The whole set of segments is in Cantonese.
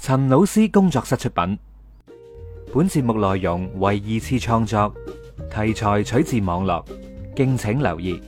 陳老師工作室出品，本節目內容為二次創作，題材取自網絡，敬請留意。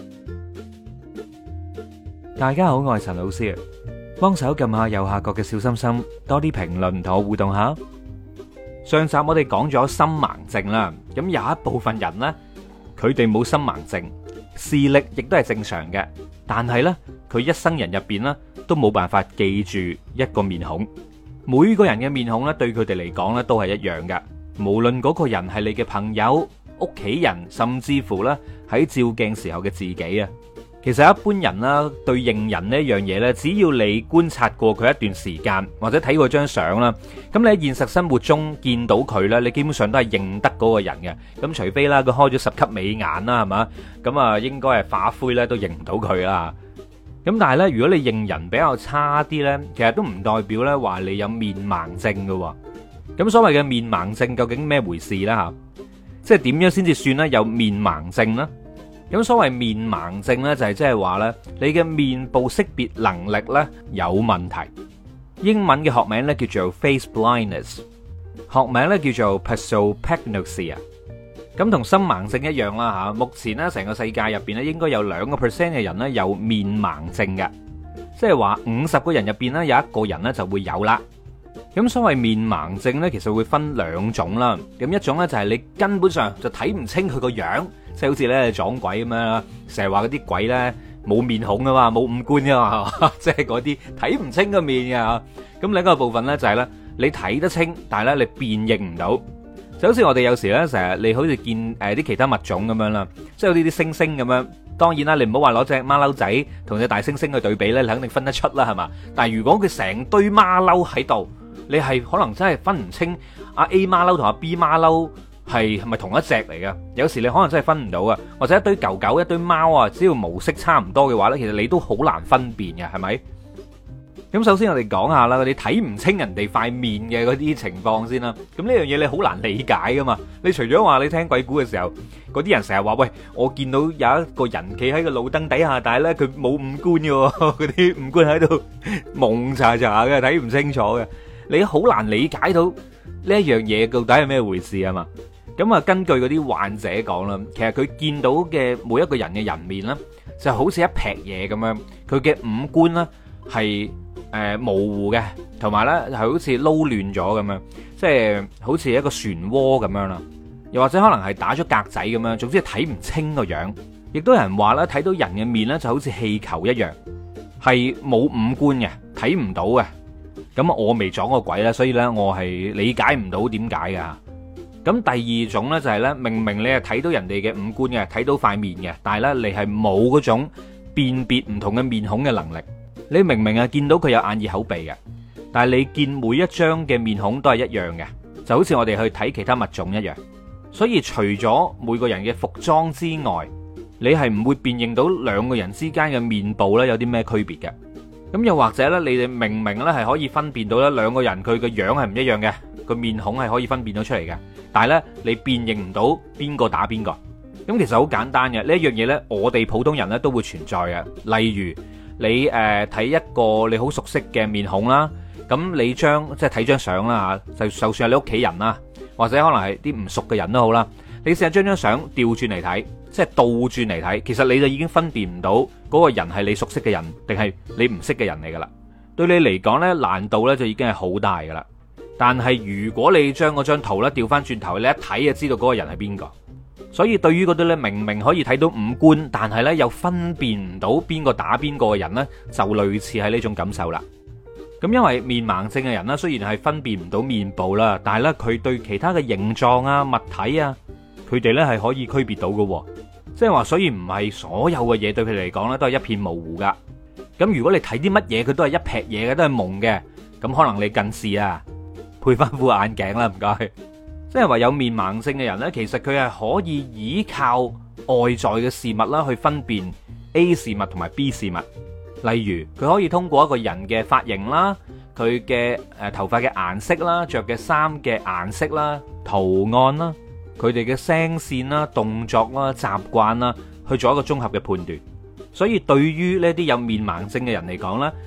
大家好，我係陳老師，幫手撳下右下角嘅小心心，多啲評論同我互動下。上集我哋講咗心盲症啦，咁有一部分人呢，佢哋冇心盲症，視力亦都係正常嘅，但係呢，佢一生人入邊呢，都冇辦法記住一個面孔。每個人嘅面孔咧，對佢哋嚟講咧，都係一樣嘅。無論嗰個人係你嘅朋友、屋企人，甚至乎咧喺照鏡時候嘅自己啊。其實一般人啦，對認人呢一樣嘢咧，只要你觀察過佢一段時間，或者睇過張相啦，咁你喺現實生活中見到佢咧，你基本上都係認得嗰個人嘅。咁除非啦，佢開咗10級美顏啦，係嘛？咁啊，應該係化灰咧都認唔到佢啦。咁但係咧，如果你認人比較差啲咧，其實都唔代表咧話你有面盲症㗎。咁所謂嘅面盲症究竟咩回事咧吓？即係點樣先至算咧有面盲症咧？咁所謂面盲症咧就係即係話咧你嘅面部識別能力咧有問題。英文嘅學名咧叫做 face blindness， 學名咧叫做 prosopagnosia。咁同心盲症一樣啦吓，目前咧成個世界入邊咧應該有2% 嘅人咧有面盲症嘅，即係話50個人入邊咧有1個人咧就會有啦。咁所謂面盲症咧，其實會分2種啦。咁一種咧就係你根本上就睇唔清佢個樣，即係好似咧撞鬼咁樣啦，成日話嗰啲鬼咧冇面孔噶嘛，冇五官噶嘛，即係嗰啲睇唔清個面嘅。咁另一個部分咧就係咧你睇得清，但係咧你辨認唔到。就好似我哋有時咧，成日你好似見啲其他物種咁樣啦，即係有啲猩猩咁樣。當然啦，你唔好話攞隻馬騮仔同隻大猩猩去對比咧，你肯定分得出啦，係嘛？但係如果佢成堆馬騮喺度，你係可能真係分唔清阿 A 馬騮同阿 B 馬騮係咪同一隻嚟嘅。有時你可能真係分唔到啊，或者一堆狗狗、一堆貓啊，只要毛色差唔多嘅話咧，其實你都好難分辨嘅，係咪？咁首先我哋講下啦，你睇唔清人哋塊面嘅嗰啲情況先啦。咁呢樣嘢你好難理解噶嘛。你除咗話你聽鬼故嘅時候，嗰啲人成日話喂，我見到有一個人企喺個路燈底下，但係咧佢冇五官嘅，嗰啲五官喺度蒙查查嘅，睇唔清楚嘅。你好難理解到呢一樣嘢到底係咩回事啊嘛。咁啊，根據嗰啲患者講啦，其實佢見到嘅每一個人嘅人面咧，就好似一撇嘢咁樣，佢嘅五官咧係模糊嘅，同埋咧係好似撈亂咗咁樣，即係好似一個漩渦咁樣啦，又或者可能係打咗格仔咁樣，總之係睇唔清個樣。亦都有人話咧，睇到人嘅面咧就好似氣球一樣，係冇五官嘅，睇唔到嘅。咁我未撞過鬼啦，所以咧我係理解唔到點解㗎。咁第二種咧就係咧，明明你係睇到人哋嘅五官嘅，睇到塊面嘅，但係咧你係冇嗰種辨別唔同嘅面孔嘅能力。你明明見到佢有眼耳口鼻嘅，但係你見每一張嘅面孔都係一樣嘅，就好似我哋去睇其他物種一樣。所以除咗每個人嘅服裝之外，你係唔會辨認到兩個人之間嘅面部咧有啲咩區別嘅。咁又或者咧，你哋明明咧係可以分辨到咧兩個人佢嘅樣係唔一樣嘅，個面孔係可以分辨到出嚟嘅，但係咧你辨認唔到邊個打邊個。咁其實好簡單嘅，呢一樣嘢咧，我哋普通人咧都會存在嘅。例如你睇一個你好熟悉嘅面孔啦，咁你即係睇張相啦嚇，就算係你屋企人啦，或者可能係啲唔熟嘅人都好啦，你試下將張相調轉嚟睇，即係倒轉嚟睇，其實你就已經分辨唔到嗰個人係你熟悉嘅人定係你唔識嘅人嚟噶啦。對你嚟講呢，難度呢就已經係好大噶啦。但係如果你將嗰張圖呢調翻轉頭，你一睇就知道嗰個人係邊個。所以對於嗰啲咧明明可以睇到五官，但係咧又分辨唔到邊個打邊個嘅人呢，就類似係呢種感受啦。咁因為面盲症嘅人呢，雖然係分辨唔到面部啦，但係咧佢對其他嘅形狀啊、物體啊，佢哋咧係可以區別到嘅。即係話，所以唔係所有嘅嘢對佢嚟講咧都係一片模糊噶。咁如果你睇啲乜嘢，佢都係一撇嘢嘅，都係蒙嘅，咁可能你近視啊，配翻副眼鏡啦，唔該。即係話有面盲症嘅人呢，其實佢係可以依靠外在嘅事物啦，去分辨 A 事物同埋 B 事物。例如佢可以通過一個人嘅髮型啦、佢嘅頭髮嘅顏色啦、着嘅衫嘅顏色啦、圖案啦、佢哋嘅聲線啦、動作啦、習慣啦，去做一個綜合嘅判斷。所以對於呢啲有面盲症嘅人嚟講呢，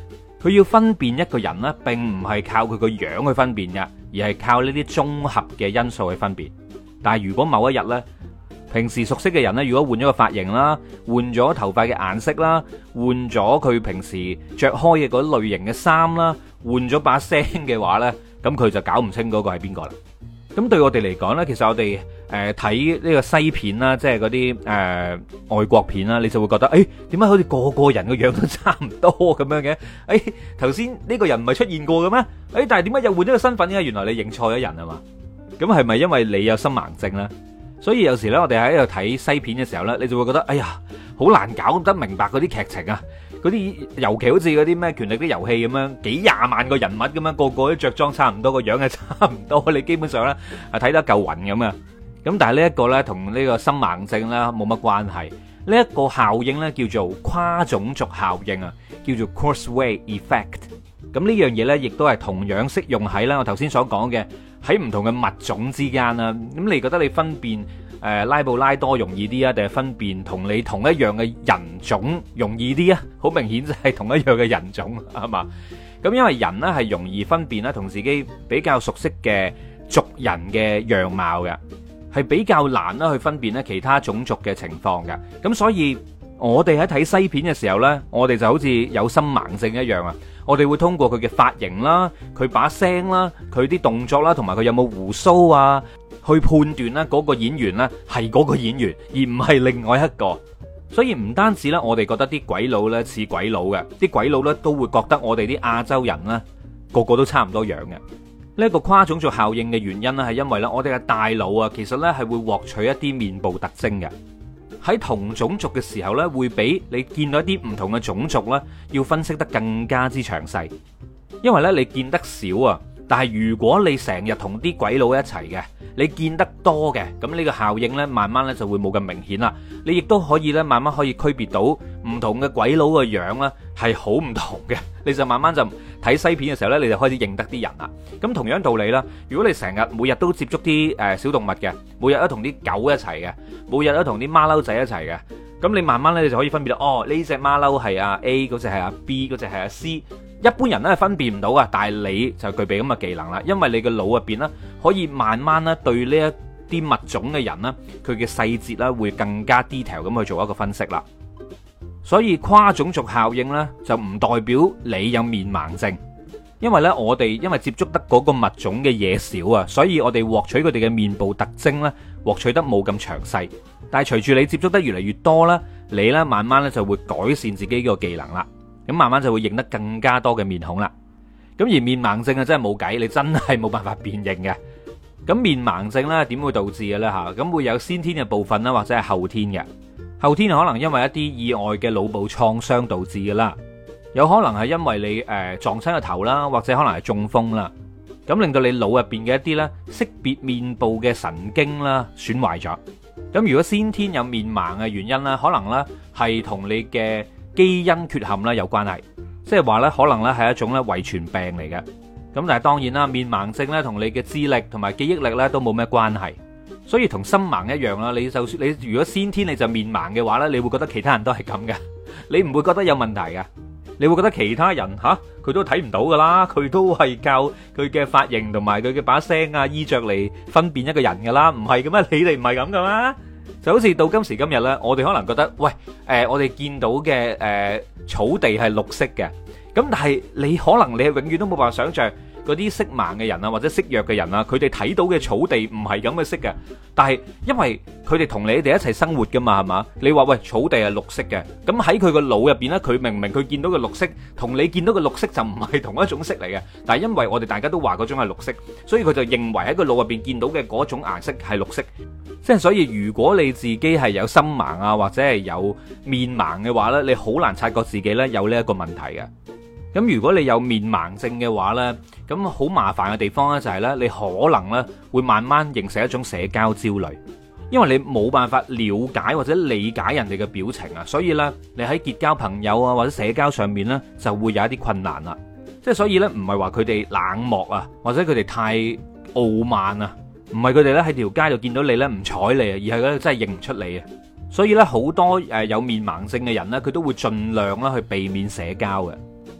佢要分辨一個人呢，並唔係靠佢個樣去分辨嘅，而係靠呢啲綜合嘅因素去分辨。但係如果某一日呢，平時熟悉嘅人呢，如果換咗個髮型啦，換咗頭髮嘅顏色啦，換咗佢平時着開嘅嗰類型嘅衫啦，換咗把聲嘅話呢，咁佢就搞唔清嗰個係邊個啦。咁對我哋嚟講呢，其實我哋睇呢個西片啦，即係嗰啲外國片啦，你就會覺得點解好似個個人個樣都差唔多咁樣嘅？頭先呢個人唔係出現過嘅咩？但係點解又換咗個身份嘅？原來你認錯咗人啊嘛？咁係咪因為你有心盲症呢？所以有時咧，我哋喺度睇西片嘅時候咧，你就會覺得，哎呀，好難搞得明白嗰啲劇情啊！嗰啲尤其好似嗰啲咩權力啲遊戲咁樣，幾廿萬個人物咁樣，個個都着裝差唔多，個樣係差唔多，你基本上咧係睇得嚿雲咁啊！咁但係呢一個咧，同呢個心盲症咧冇乜關係。呢一個效應咧叫做跨種族效應啊，叫做 Kurzweil effect。咁呢樣嘢咧，亦都係同樣適用喺啦我頭先所講嘅喺唔同嘅物種之間啦。咁你覺得你分辨拉布拉多容易啲啊，定係分辨同你同一樣嘅人種容易啲啊？好明顯就係同一樣嘅人種係嘛？咁因為人呢係容易分辨啦，同自己比較熟悉嘅族人嘅樣貌嘅，係比較難啦去分辨咧其他種族嘅情況嘅。咁所以我哋喺睇西片嘅時候呢，我哋就好似有心盲症一樣啊！我哋會通過佢嘅髮型啦、佢把聲啦、佢啲動作啦，同埋佢有冇鬍鬚啊，去判斷咧嗰個演員呢係嗰個演員，而唔係另外一個。所以唔單止咧，我哋覺得啲鬼佬呢似鬼佬嘅，啲鬼佬呢都會覺得我哋啲亞洲人呢個個都差唔多樣嘅。呢一個跨種族效應嘅原因呢，係因為呢我哋嘅大腦啊，其實呢係會獲取一啲面部特徵嘅。喺同種族嘅時候呢，會比你見到一啲唔同嘅種族呢，要分析得更加之詳細。因為呢，你見得少啊，但係如果你成日同啲鬼佬一齊嘅，你見得多嘅，咁呢個效應呢，慢慢呢就會冇咁明顯啦。你亦都可以呢，慢慢可以區別到唔同嘅鬼佬嘅樣呢係好唔同嘅。你就慢慢就睇西片嘅時候呢，你就開始認得啲人啦。咁同樣道理啦，如果你成日每日都接觸啲小動物嘅，每日都同啲狗一齊嘅，每日都同啲馬騮仔一齊嘅，咁你慢慢呢，你就可以分別到，哦，呢隻馬騮係阿 A， 嗰隻係阿 B， 嗰隻係阿 C。一般人呢係分辨唔到啊，但係你就具備咁嘅技能啦，因為你嘅腦入邊呢，可以慢慢呢對呢一啲物種嘅人呢，佢嘅細節呢會更加 detail 咁去做一個分析啦。所以跨種族效應呢，就唔代表你有面盲症，因為呢，我哋因為接觸得嗰個物種嘅嘢少啊，所以我哋獲取佢哋嘅面部特徵呢，獲取得冇咁詳細。但係隨住你接觸得越嚟越多啦，你呢慢慢呢就會改善自己個技能啦，咁慢慢就會認得更加多嘅面孔啦。咁而面盲症啊，真係冇計，你真係冇辦法辨認嘅。咁面盲症呢點會導致嘅呢？吓，咁會有先天嘅部分啦，或者係後天嘅。後天可能因為一啲意外嘅腦部創傷導致嘅啦，有可能係因為你撞親個頭啦，或者可能係中風啦，咁令到你腦入邊嘅一啲呢識別面部嘅神經啦損壞咗。咁如果先天有面盲嘅原因呢，可能呢係同你嘅基因缺陷啦有關係，即係話呢可能呢係一種呢遺傳病嚟嘅。咁但係當然啦，面盲症呢同你嘅智力同埋記憶力呢都冇咩關係。所以同心盲一樣啦，你就算你如果先天你就面盲嘅話呢，你會覺得其他人都係咁嘅，你唔會覺得有問題嘅，你會覺得其他人佢都睇唔到噶啦，佢都係靠佢嘅髮型同埋佢嘅把聲啊衣着嚟分辨一個人噶啦，唔係嘅咩？你哋唔係咁噶咩？就好似到今時今日呢，我哋可能覺得喂，我哋見到嘅草地係綠色嘅，咁但係你可能你係永遠都冇辦法想象嗰啲色盲嘅人啊，或者色弱嘅人啊，佢哋睇到嘅草地唔係咁嘅色嘅，但係因為佢哋同你哋一齊生活噶嘛，係嘛？你話喂，草地係綠色嘅，咁喺佢個腦入邊呢，佢明明佢見到嘅綠色同你見到嘅綠色就唔係同一種色嚟嘅，但係因為我哋大家都話嗰種係綠色，所以佢就認為喺個腦入邊見到嘅嗰種顏色係綠色。即係所以如果你自己係有心盲啊，或者係有面盲嘅話呢，你好難察覺自己呢有呢一個問題嘅。咁如果你有面盲症嘅話呢，咁好麻煩嘅地方呢就係呢，你可能呢會慢慢形成一種社交焦慮，因為你冇辦法了解或者理解人哋嘅表情啊，所以呢，你喺結交朋友啊或者社交上面呢就會有一啲困難啦。即係所以呢，唔係話佢哋冷漠啊，或者佢哋太傲慢啊，唔係佢哋呢喺條街度見到你呢唔睬你啊，而係佢真係認唔出你啊。所以呢，好多有面盲症嘅人呢，佢都會盡量啦去避免社交嘅。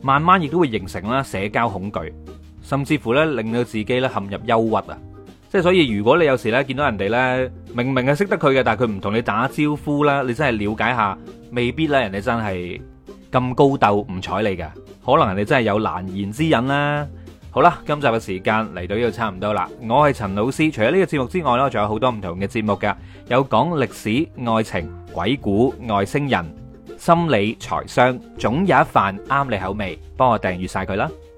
慢慢亦都會形成啦社交恐懼，甚至乎咧令到自己咧陷入憂鬱啊！即係所以，如果你有時咧見到人哋咧明明係識得佢嘅，但係佢唔同你打招呼啦，你真係了解下，未必咧人哋真係咁高鬥唔睬你嘅，可能人哋真係有難言之隱啦。好啦，今集嘅時間嚟到呢度差唔多啦。我係陳老師，除咗呢個節目之外呢，仲有好多唔同嘅節目㗎，有講歷史、愛情、鬼故、外星人、心理、財商，總有一瓣啱你口味，幫我訂閱晒佢啦。